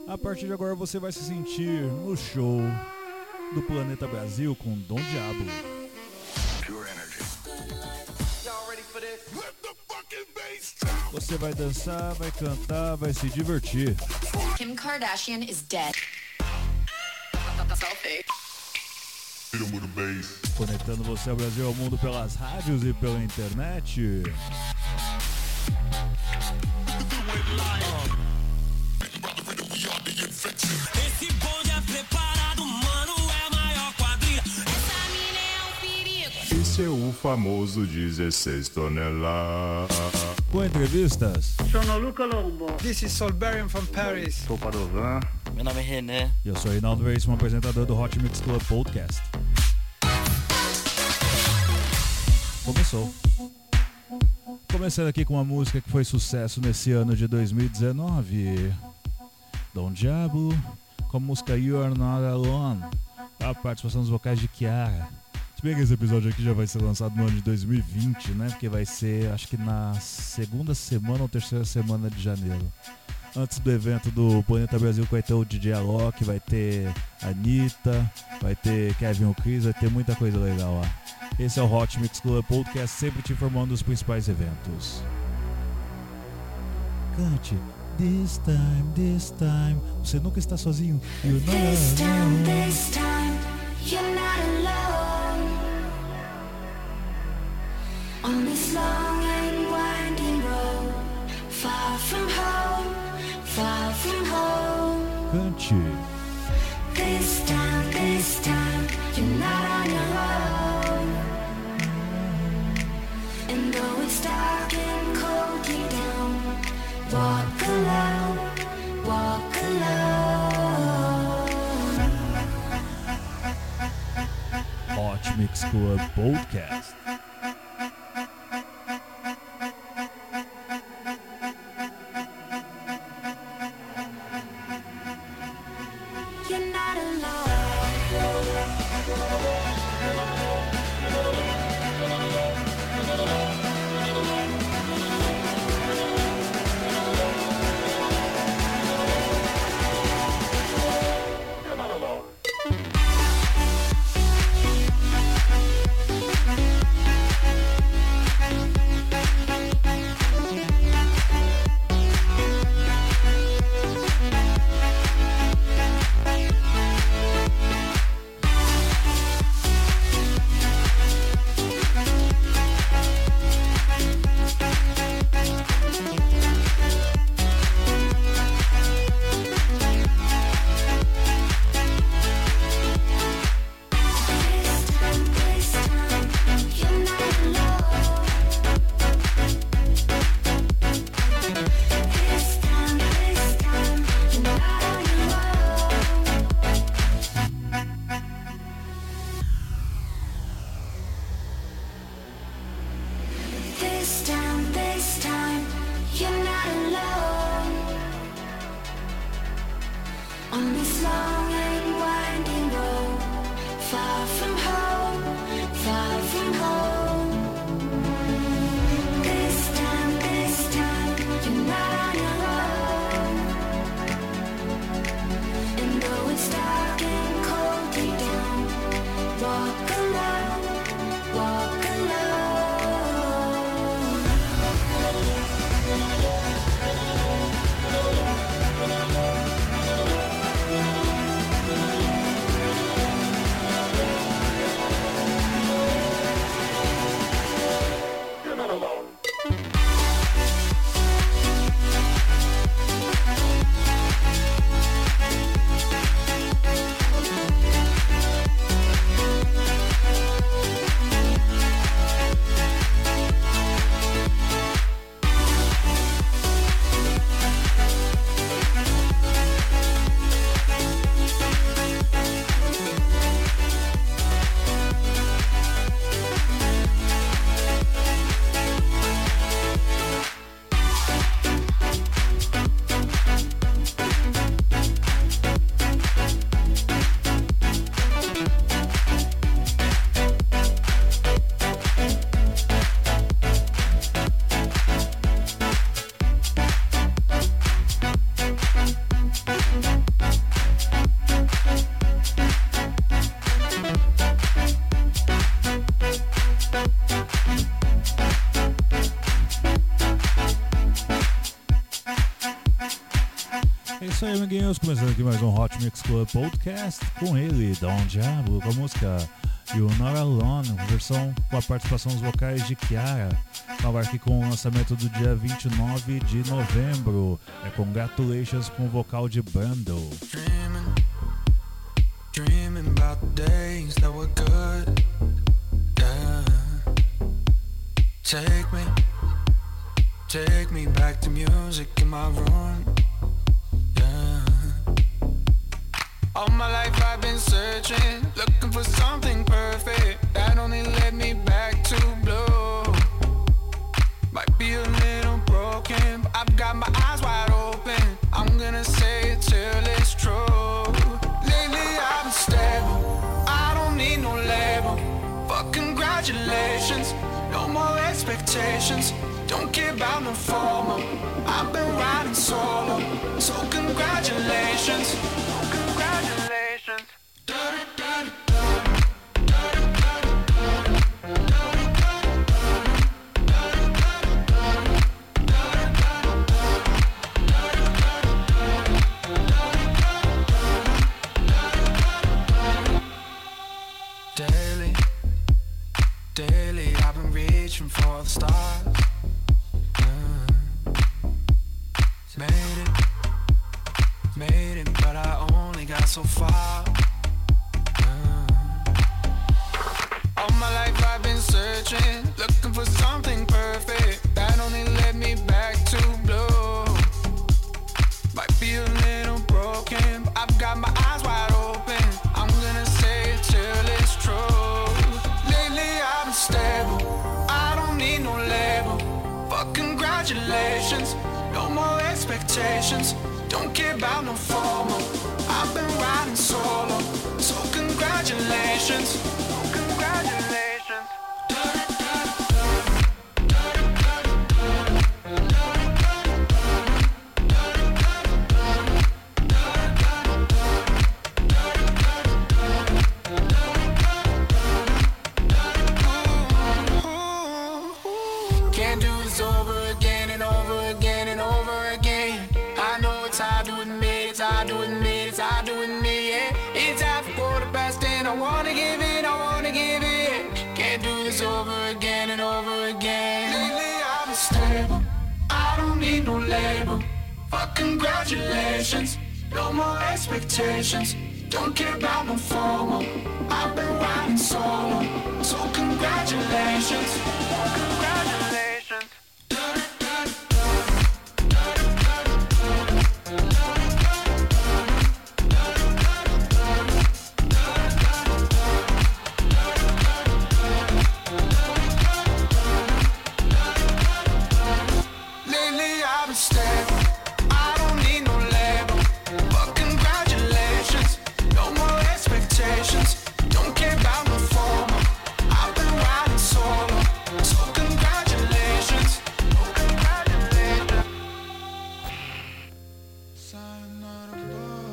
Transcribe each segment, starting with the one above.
A partir de agora você vai se sentir no show do Planeta Brasil com Dom Diabo. Você vai dançar, vai cantar, vai se divertir. Kim Kardashian is dead. Conectando você ao Brasil, ao mundo pelas rádios e pela internet. Esse bonde é preparado, mano, é a maior quadrilha. Essa mina é um perigo. Esse é o famoso 16 toneladas. Com entrevistas. Sono Luca Lombo. This is Solberian from Paris. Sou Padovan. Meu nome é René. E eu sou Reinaldo Veríssimo, apresentador do Hot Mix Club Podcast. Começou. Começando aqui com uma música que foi sucesso nesse ano de 2019. Dom Diabo, com a música You Are Not Alone. A participação dos vocais de Kiara. Se bem que esse episódio aqui já vai ser lançado no ano de 2020, né? Porque vai ser, acho que na segunda semana ou terceira semana de janeiro. Antes do evento do Planeta Brasil, que vai ter o DJ Alok, vai ter a Anitta, vai ter Kevin O'Chris, vai ter muita coisa legal lá. Esse é o Hot Mix Club Podcast, sempre te informando dos principais eventos. Cante. This time, você nunca está sozinho. You're not alone. This time, you're not alone. On this long and winding road, far from home, far from home. Cante. This time, you're not on your own. And though it's dark and cold deep down, walk alone, walk alone. Hot Mix Club Podcast. You're not alone. É isso aí, amiguinhos. Começando aqui mais um Hot Mix Club Podcast com ele, Don Diablo, com a música You're Not Alone, versão com a participação dos vocais de Kiara. Estava aqui com o lançamento do dia 29 de novembro. É Congratulations com o vocal de Brando. Dreaming about the days that were good, yeah. Take me back to music in my room, yeah. All my life I've been searching, looking for something perfect that only led me back to blue. Might be a little broken, but I've got my eyes wide open. I'm gonna say it till it's true. Lately I've been stable, I don't need no label. But congratulations, no more expectations. Don't care about no formal, I've been riding solo. So congratulations, congratulations. Daily I've been reaching for the stars. Made it, but I only got so far. All my life I've been searching, looking for something perfect that only led me back to blue. Might be a little broken, but I've got my eyes wide open. I'm gonna say it till it's true. Lately I've been stable, I don't need no label. But congratulations, no more expectations. Don't care about no formal, I've been riding solo. So congratulations, congratulations. Can't do this over again and over again and over again. I know it's hard to admit, it's hard to admit, it's hard to admit, yeah. It's half a quarter past 10, I wanna give it, I wanna give it. Can't do this over again and over again. Lately I've been stable, I don't need no label. But congratulations, no more expectations. Don't care about no formal, I've been riding solo. So congratulations, congratulations. Lately I've been stable, I don't need no label. But congratulations, no more expectations. Don't care about no formal, I've been riding solo. So congratulations, congratulations. Sign on a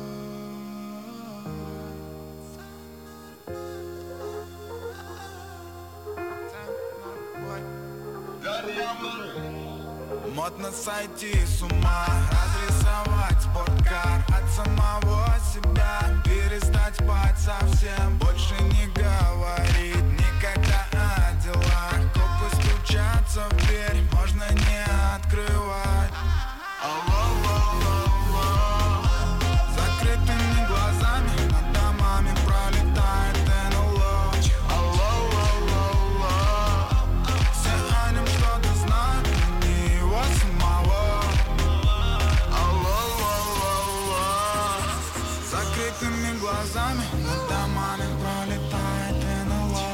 Модно сойти с ума, разрисовать спорткар от самого себя, перестать спать совсем, больше не говорить никогда о делах. Копы стучатся в дверь, можно не открывать. Алло, закрытыми глазами над домами пролетает НЛО. Алло, все о нем что-то знают, но не его самого. Алло, закрытыми глазами над домами пролетает НЛО.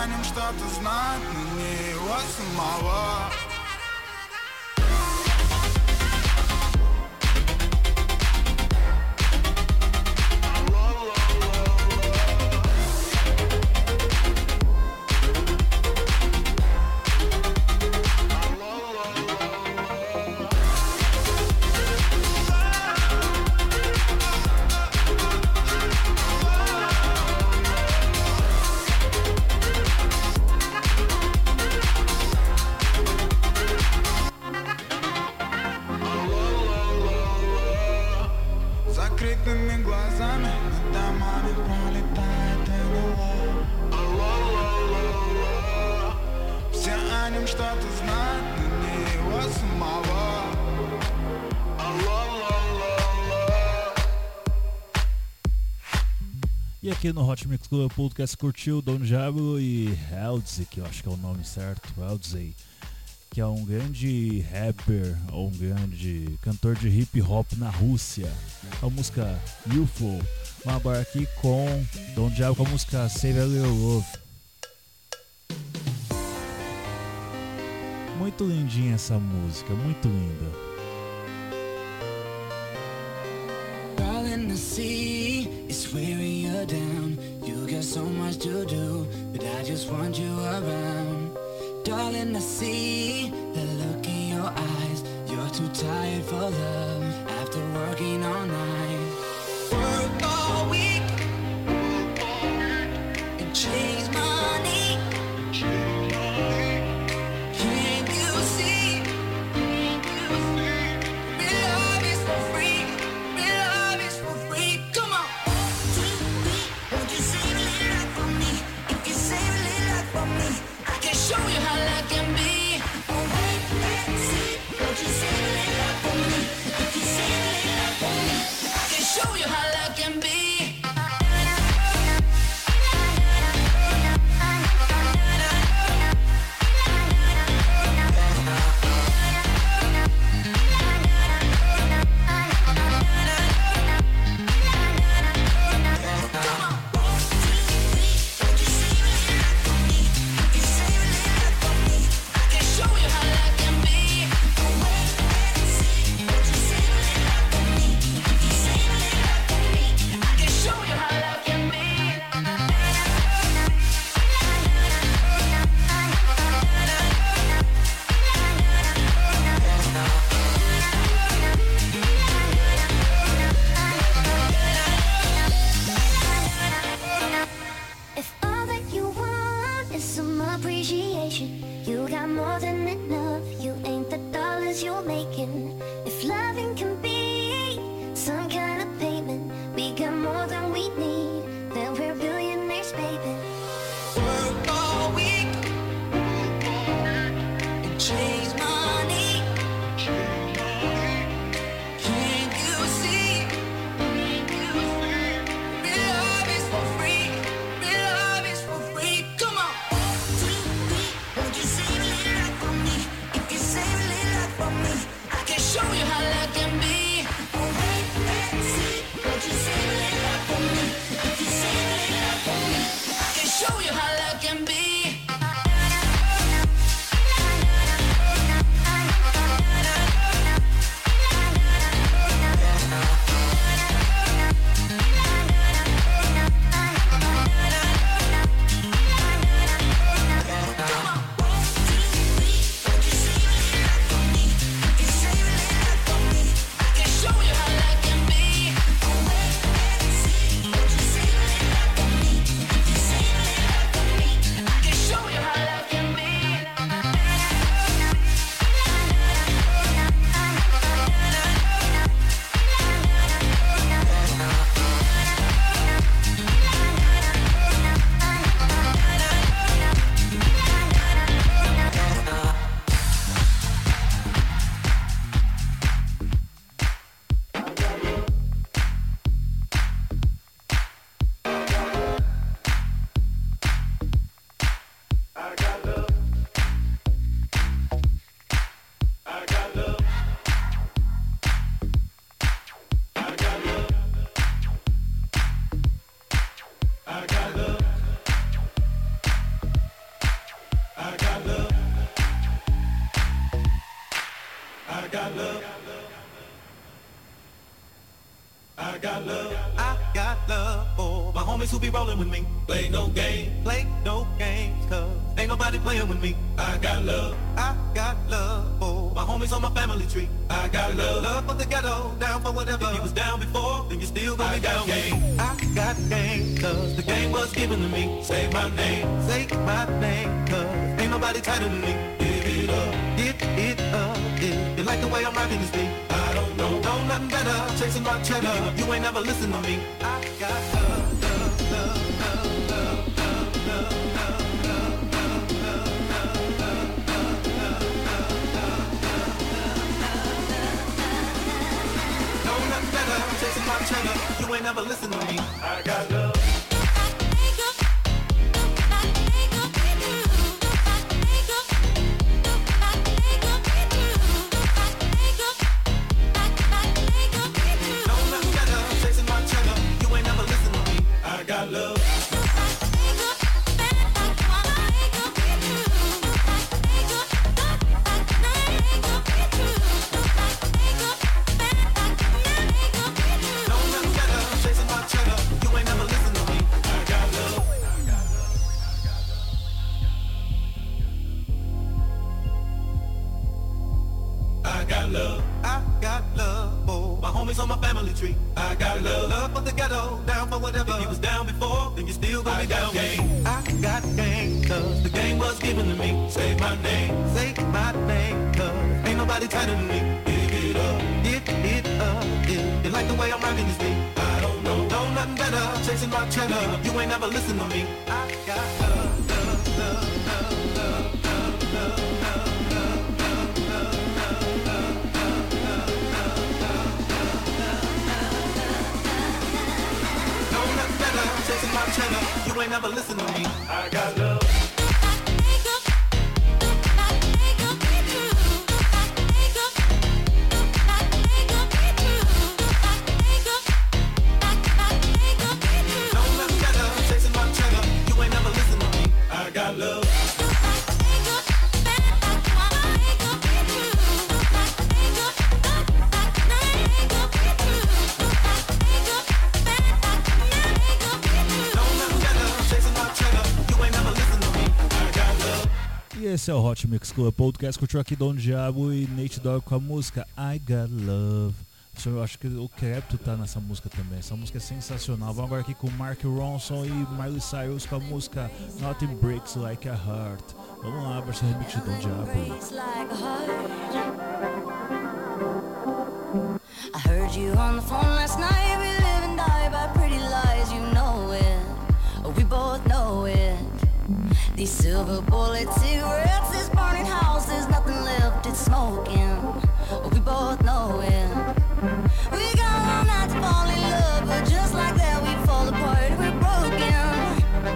нем что-то знать, но не его самого. Закрытыми глазами над домами пролетает НЛО. Все о нем что-то знают, но не его самого. E aqui no Hot Mix Club Podcast curtiu Don Diablo e Eldsey, que eu acho que é o nome certo, Eldsey, que é um grande rapper ou um grande cantor de hip hop na Rússia. A música UFO. Vamos agora aqui com Don Diablo com a música Save a Little Love. Muito lindinha essa música, muito linda. Darling, I see it's wearing you down. You got so much to do, but I just want you around. Darling, I see the look in your eyes. You're too tired for love after working all night. Work all week and chase money. Can't you see? Real love is for free. Real love is for free. Come on. Won't you save a little life for me? If you save a little life for me, I can show you how love can be. Oh, wait and see. Won't you save a little life for me? If you save a little life for me, I can show you how love can be. homies who be rolling with me. Play no games, cause ain't nobody playing with me. I got love, oh. My homies on my family tree. I got love for the ghetto, down for whatever. If you was down before, then you still gonna be down. I got game, cause the game was given to me. Say my name, cause ain't nobody tighter than me. Give it up, you like the way I'm rocking this beat? I don't know nothing better, chasing my cheddar. You ain't never listen to me. I got love. Chasing my cheddar, you ain't never listen to me. I got love. On my family tree, I got love for the ghetto, down for whatever. If you was down before, then you still gonna be down. Game. I got game, cause the game was given to me. Say my name, cause ain't nobody tighter than me. Give it up, you like the way I'm rocking this beat? I don't know nothing better, chasing my cheddar. You ain't never listen to me. I got love. Chasing my cheddar, you ain't never listen to me. I got love. Chasing my cheddar, you ain't never listen to me. I got love. E esse é o Hot Mix Club Podcast. Curtiu aqui Dom Diabo e Nate Dogg com a música I Got Love. Eu acho que o Klepto tá nessa música também. Essa música é sensacional. Vamos agora aqui com Mark Ronson e Miley Cyrus com a música Nothing Breaks Like a Heart. Vamos lá para esse remix de Dom Diabo. I heard you on the phone last night. We live and die by pretty lies, you know it. We both know it. These silver bullet cigarettes, this burning house, there's nothing left, it's smoking. We both know it. We got all night to fall in love, but just like that we fall apart. We're broken,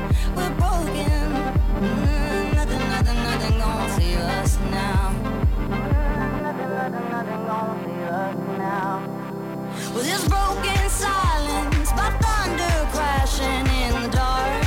nothing gonna save us now. Nothing gonna save us now. Well, this broken silence by thunder crashing in the dark.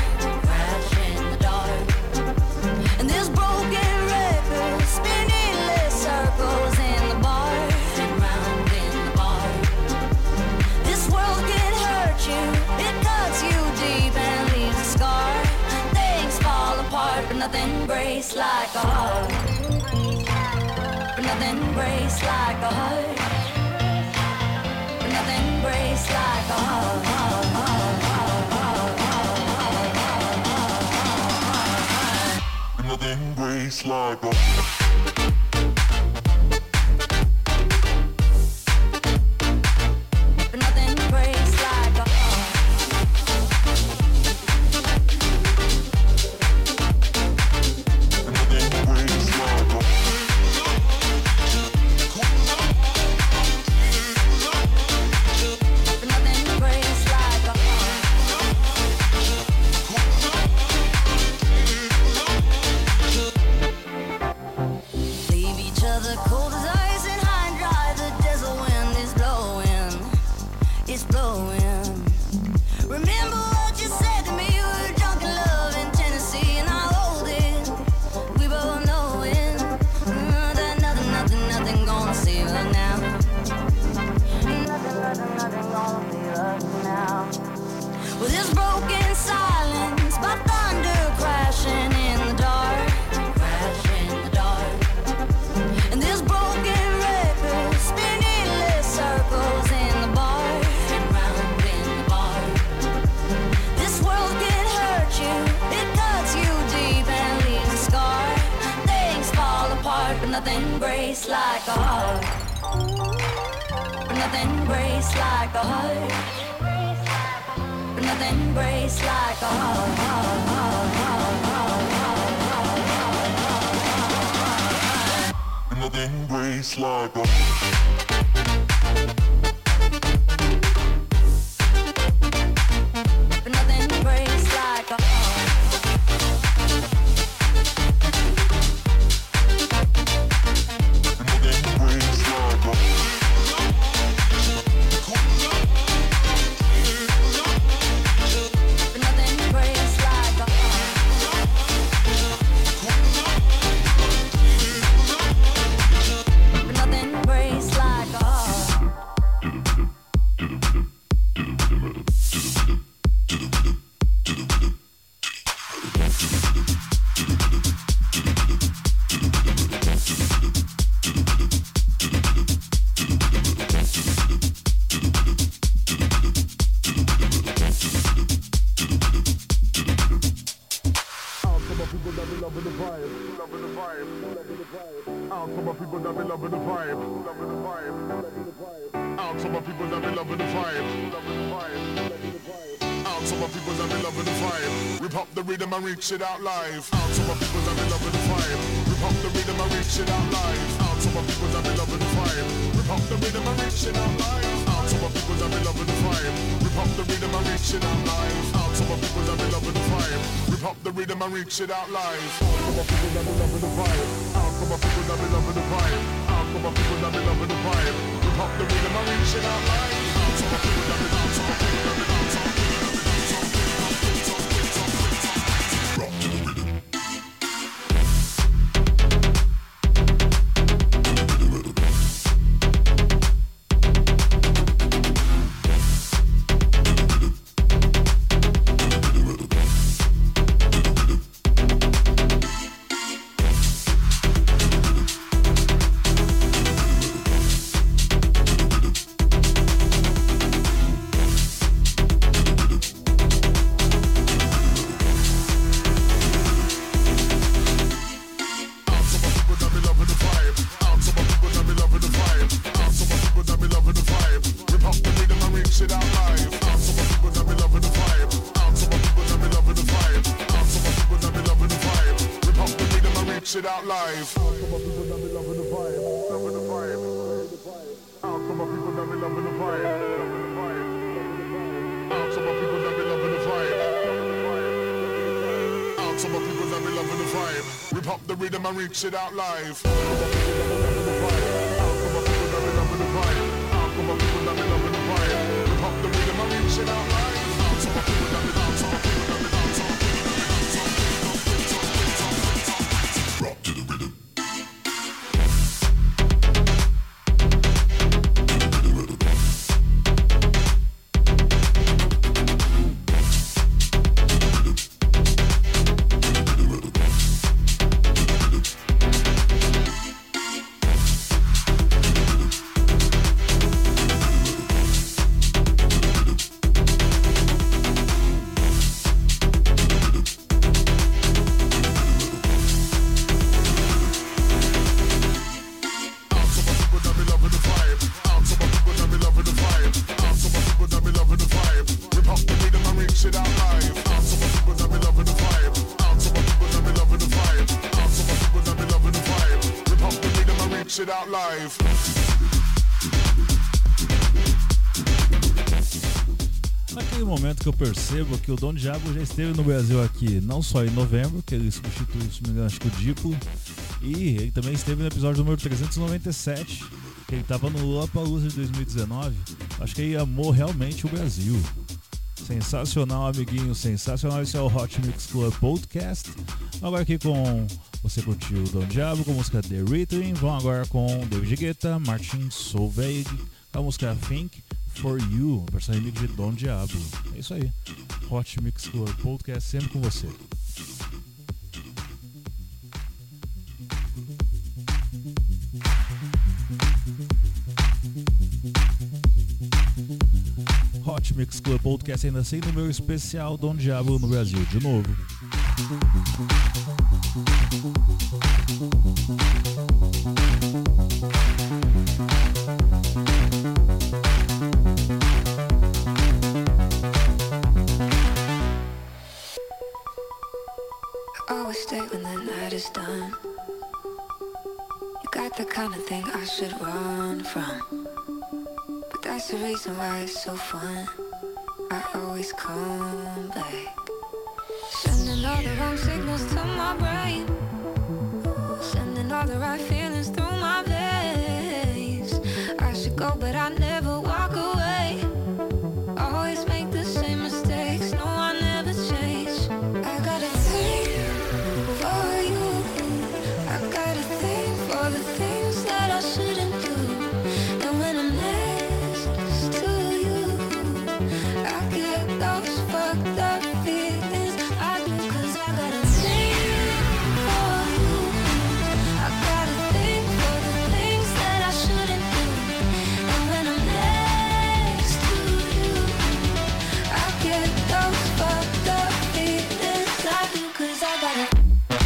And this broken record spinning less circles in the bar, and round in the bar. This world can hurt you, it cuts you deep and leaves a scar. Things fall apart, but nothing breaks like a heart. But nothing breaks like a heart. But nothing breaks like a heart. Nothing breaks like a But nothing breaks like a Nothing breaks like a But nothing breaks like a broken silence by thunder crashing in the dark. Crash in the dark. And this broken record spin endless circles in the bar. And round in the bar. This world can hurt you, it cuts you deep and leaves a scar. Things fall apart, but nothing breaks like a heart. But nothing breaks like a heart. But nothing breaks like a heart. Nothing breaks like a But nothing breaks like a But nothing breaks like a But nothing breaks like a Out to my people that be loving the vibe, loving the vibe, loving the vibe. Out to my people that be loving the vibe, loving the vibe, loving the vibe. Out to my people that be loving the vibe. Rip up the rhythm and reach it out live. Out to my people that be loving the vibe. Rip up the rhythm and reach it out live. Out to my people that be loving the vibe. Rip up the rhythm and reach it out live. Out to my people that be loving the vibe. Rip up the rhythm and reach it out live. Out to my people that be loving the vibe. Rip up the rhythm and reach it out live. Out to my people that be loving the vibe. Out to my people that be loving the vibe. Out to my people that be loving the vibe. Rip up the rhythm and reach it out live. Out to my people that be out to my people that be out to my people. It out live. Out to my people that be loving the vibe, loving the vibe, loving the vibe. Out to my people that be loving the vibe, loving the vibe, loving the vibe. Out to my people that be loving the vibe, loving the vibe. Out to my people that be loving the vibe. Rip up the rhythm and reach it out live. Out to my people that be loving the vibe. Out to my people that be loving the vibe. Out to my people that be loving the vibe. Rip up the rhythm and reach it out live. Out to my people that be out to my people that be out to my people. Rock to the rhythm. It out live. Naquele momento que eu percebo que o Dom Diablo já esteve no Brasil aqui, não só em novembro, que ele substituiu, se não me engano, acho que o Diplo, e ele também esteve no episódio número 397, que ele estava no Lollapalooza de 2019. Acho que ele amou realmente o Brasil. Sensacional, amiguinho, sensacional. Esse é o Hot Mix Club Podcast. Agora aqui com você curtiu o Dom Diablo com a música The Rhythm. Vão agora com David Guetta, Martin Solveig com a música Think, For You, versão remix de Don Diablo. É isso aí. Hot Mix Club Podcast sempre com você. Hot Mix Club Podcast ainda sem número especial Don Diablo no Brasil de novo. Always stay when the night is done. You got the kind of thing I should run from, but that's the reason why it's so fun. I always come back, sending all the wrong signals to my brain, sending all the right feelings through my veins. I should go but I never walk away. Always make the same mistakes, no I never change. I got a thing for you, I got a thing for the things that I shouldn't do. And when I'm next to you, I get those fucked up feelings. I do, 'cause I got a thing for you, I got a thing for the things that I shouldn't do. And when I'm next to you, I get those fucked up feelings. I do, 'cause I got a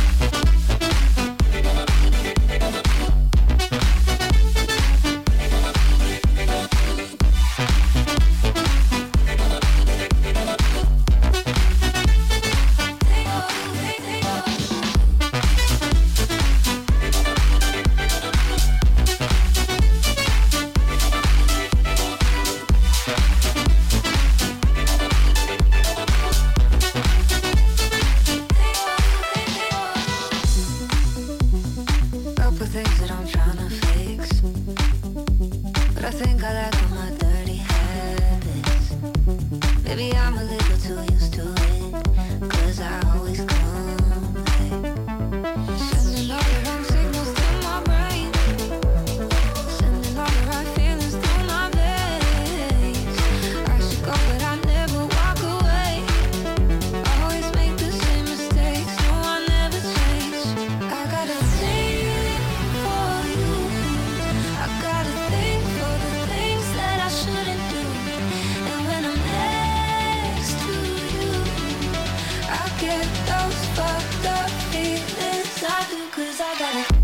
couple things that I'm tryna fix, but I think I like all my dirty habits. Maybe I'm a little too used to it, 'cause I always come back, sending all the wrong signals to my brain, sending all the right feelings through my veins. I should go but I never walk away. Always make the same mistakes, no I never change. I got a thing for you, I got a thing for the things that I shouldn't do. And when I'm next to you, I get those fucked up feelings. I do, 'cause I got a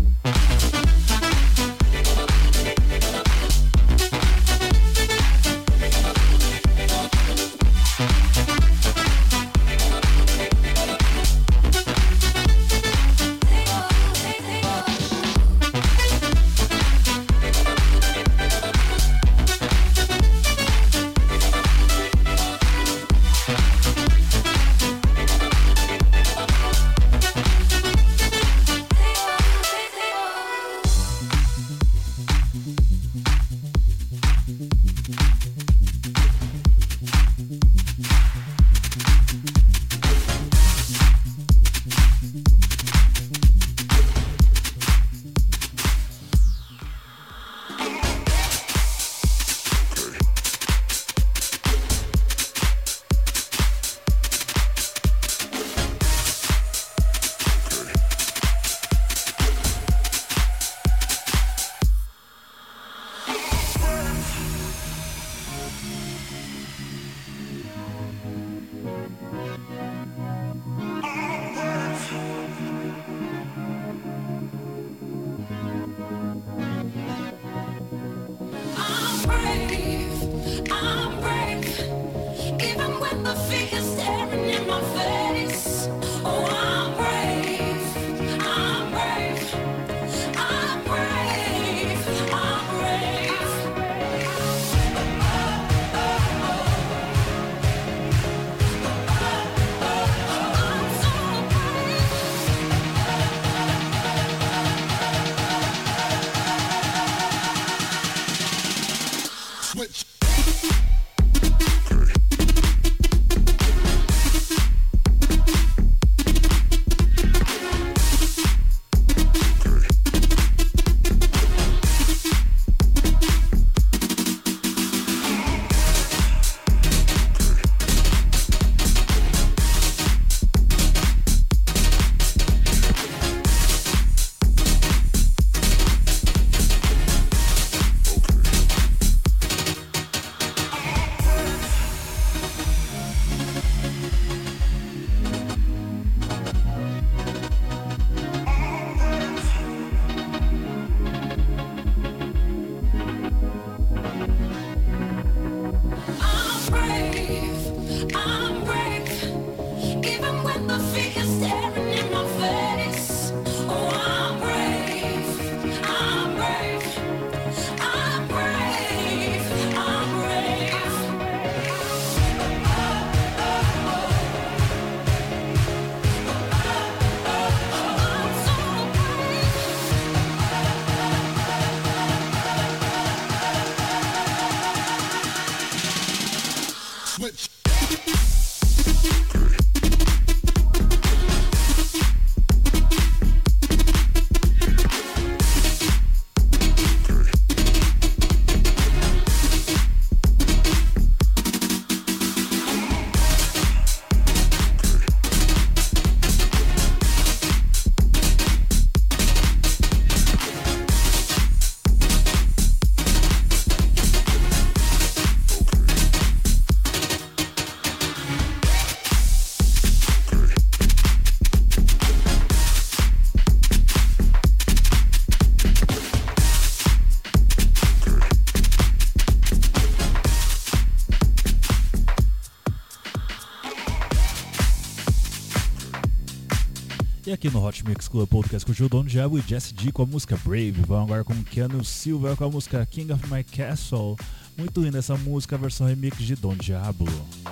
E aqui no Hot Mix Club Podcast curtiu Don Diablo e Jesse G com a música Brave. Vamos agora com Keanu Silva com a música King of My Castle. Muito linda essa música, a versão remix de Don Diablo.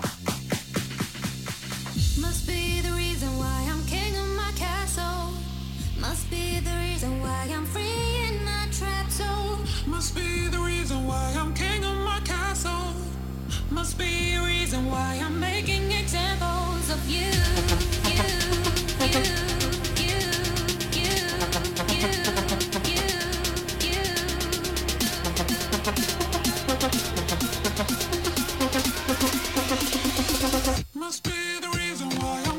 Must be the reason why I'm king of my castle. Must be the reason why I'm free in my trap soul. Must be the reason why I'm king of my castle. Must be a reason why I'm making examples of you. Must be the reason why I'm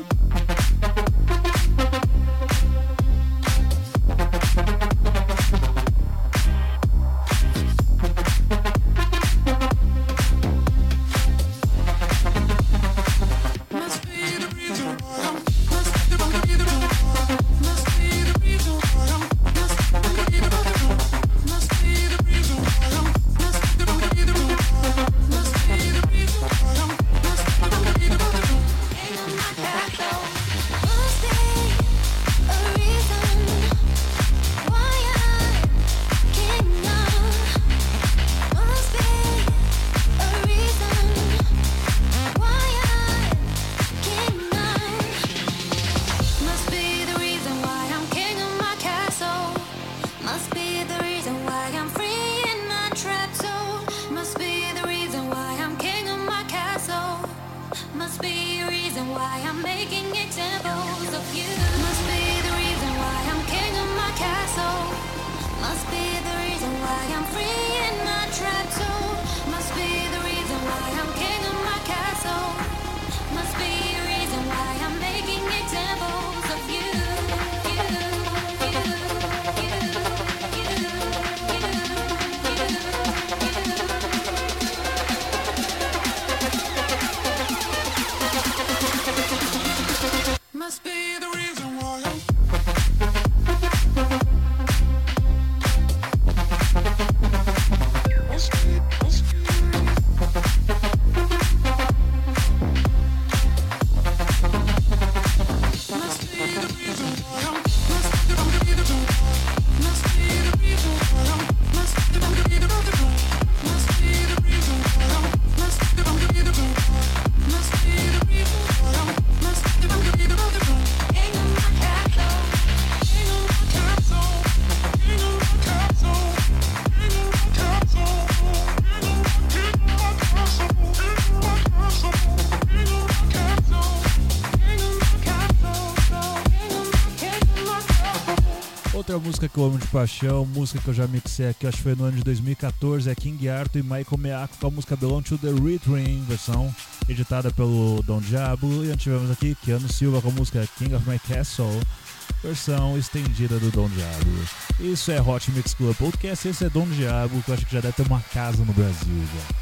Outra música que eu amo de paixão, música que eu já mixei aqui, acho que foi no ano de 2014, é King Arthur e Michael Meaco com a música Belong to the Rhythm, versão editada pelo Don Diablo. E antes tivemos aqui Keanu Silva com a música King of My Castle, versão estendida do Don Diablo. Isso é Hot Mix Club Podcast, esse é Don Diablo, que eu acho que já deve ter uma casa no Brasil já.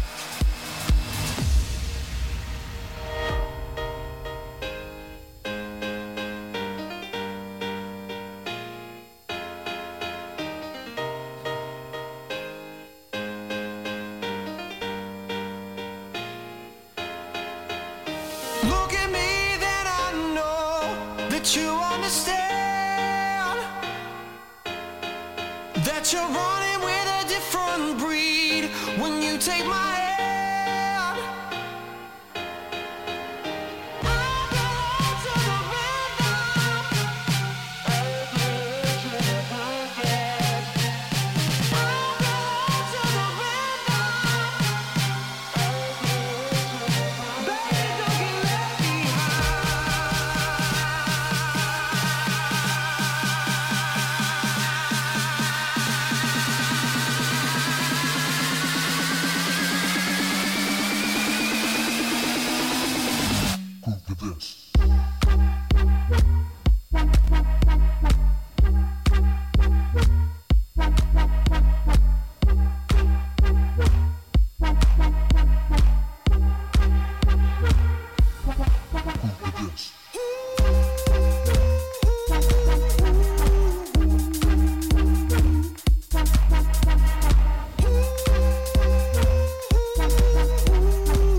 Look at me, then I know that you understand that you're running with a different breed when you take my hand.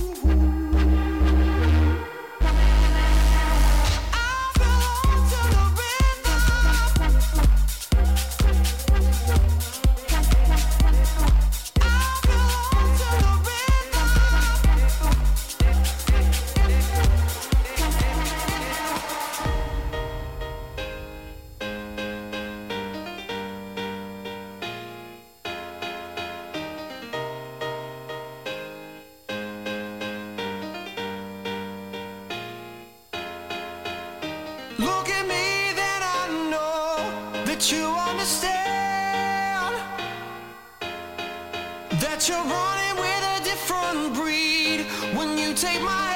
To the Look at me, then I know that you understand that you're running with a different breed when you take my hand.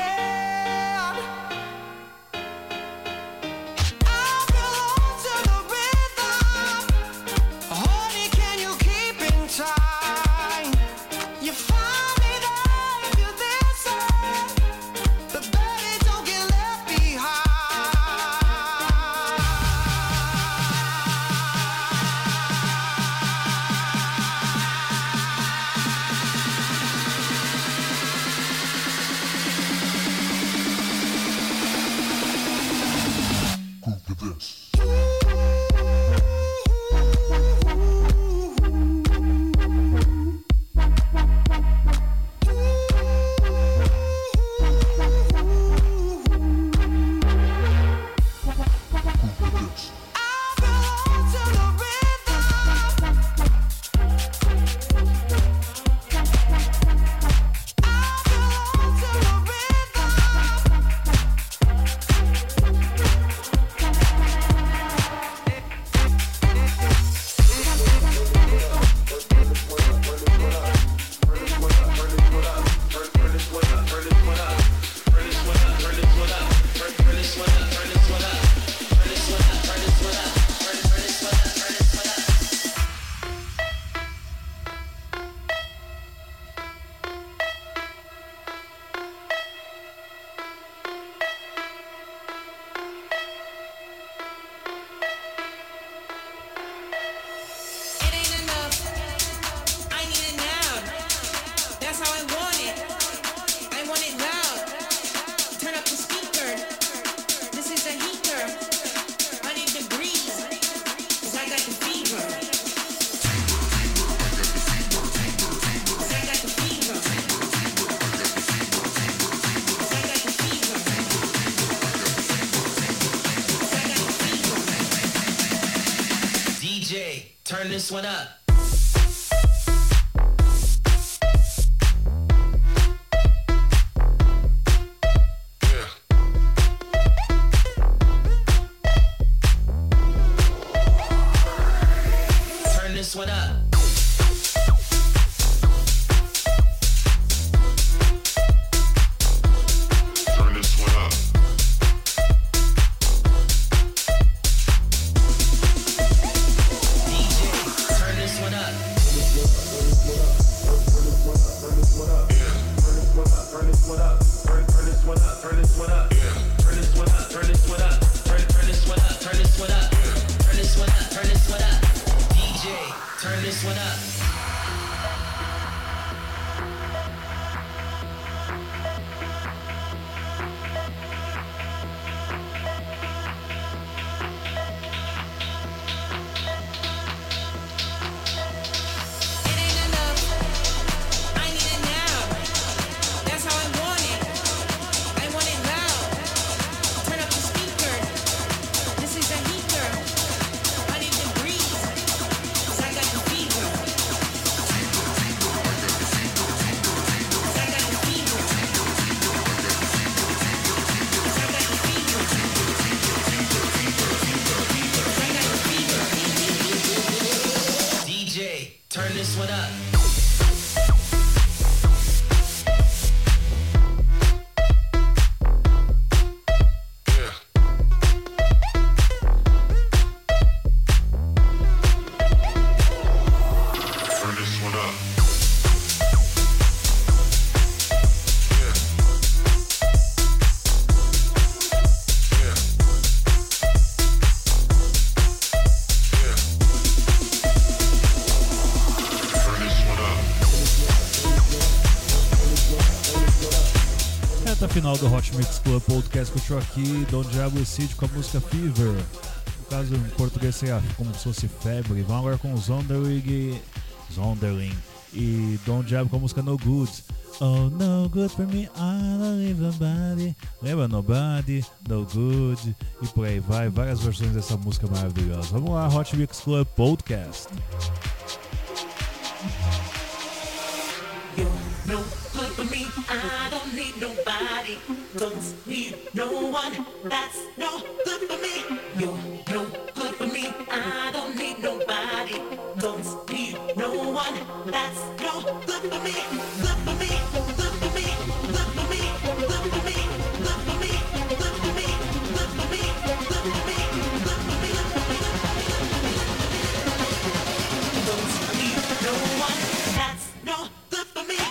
Turn this one up. Turn this one up. Turn this one up. Final do Hot Mix Club Podcast, curtiu aqui Don Diablo e Cid com a música Fever, no caso em português seria como se fosse febre. Vamos agora com Zonderling e Don Diablo com a música No Good. Oh, no good for me, I don't leave nobody. Lembra Nobody, No Good e por aí vai, várias versões dessa música maravilhosa. Vamos lá, Hot Mix Club Podcast. You're no good for me, I don't need nobody. Don't need no one, that's no good for me. You're no good for me, I don't need nobody. Don't need no one, that's no good for me. Good for me, good for me, good for me, good for me, good for me, good for me, good for me, good for me, good for me. Don't need no one, that's no good for me.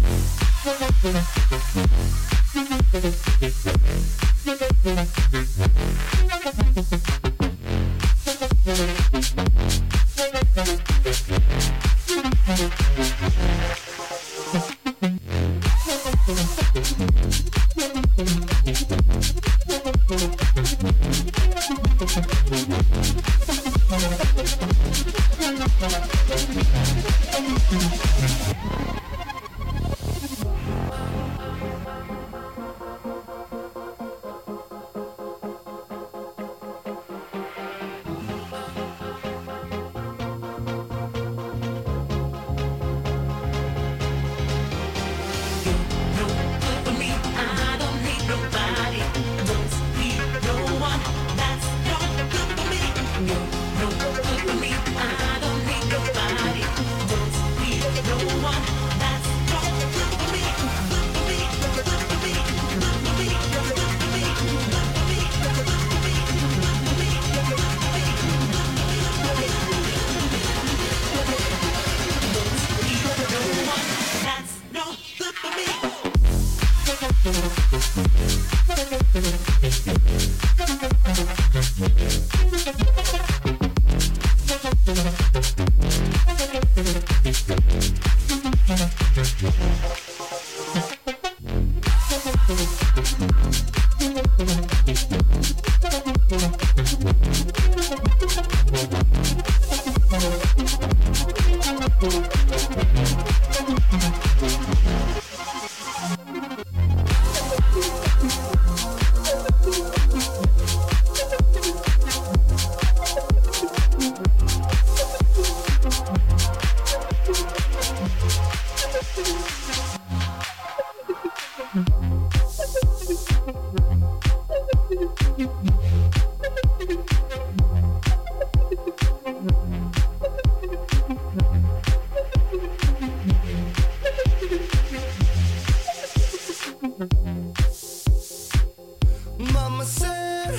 Mama said,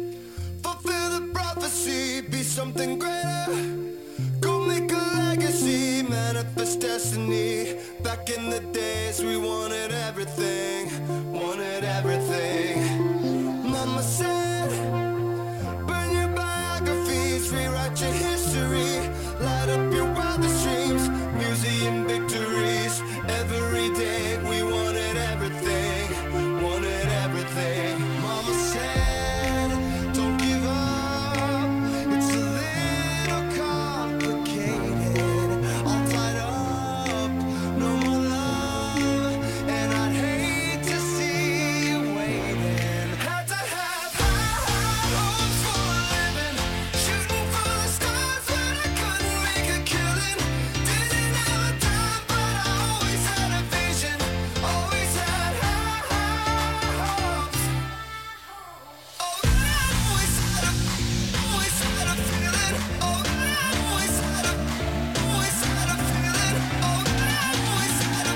fulfill the prophecy, be something greater. Go make a legacy, manifest destiny. Back in the days we wanted everything, wanted everything. Mama said, burn your biographies, rewrite your history. Light up your wildest dreams, museum victories. Every day we wanted everything, wanted everything. Mama said, don't give up, it's a little complicated. All tied up, no more love, and I'd hate to see you waiting. Had to have high hopes for a living, shooting for the stars when I couldn't make a killing. Didn't have a time, but I always had a vision, always had high hopes. Oh, I always had a feeling. Oh, I always had a feeling. Oh, I always had a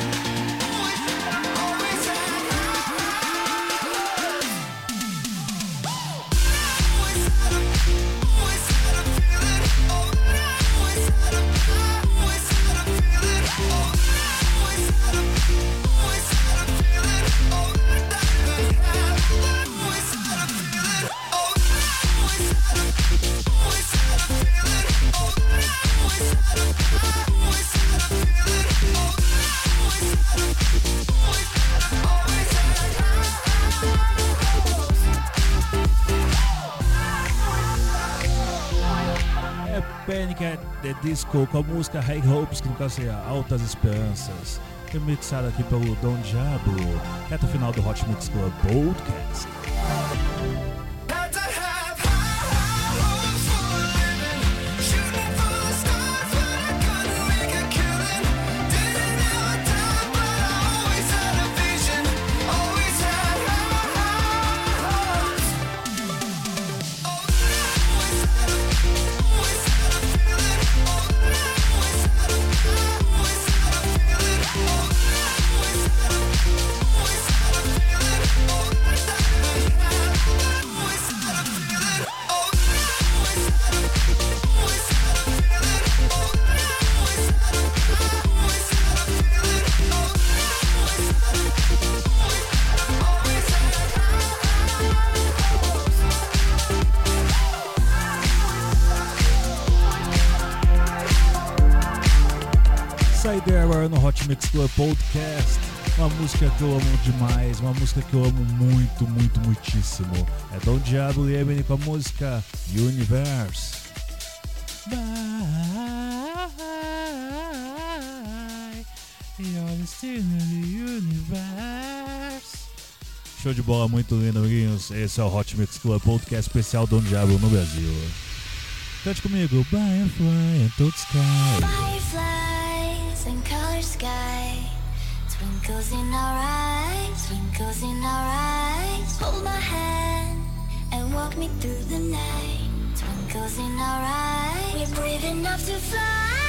Panic at the Disco com a música High Hopes, que no caso seria Altas Esperanças, remixada aqui pelo Don Diablo, reta final do Hot Mix Club Podcast. Always had a vision, always had Sky There no Hot Mix Club Podcast. Uma música que eu amo demais, uma música que eu amo muito, muito, muitíssimo. É Don Diablo e Eminem com a música Universe. Bye, you're still in the universe. Show de bola, muito lindo, amiguinhos. Esse é o Hot Mix Club Podcast especial Don Diablo no Brasil. Cante comigo. Firefly and toad sky. Fireflies and color sky. Twinkles in our eyes, twinkles in our eyes. Hold my hand and walk me through the night. Twinkles in our eyes. We're brave enough to fly.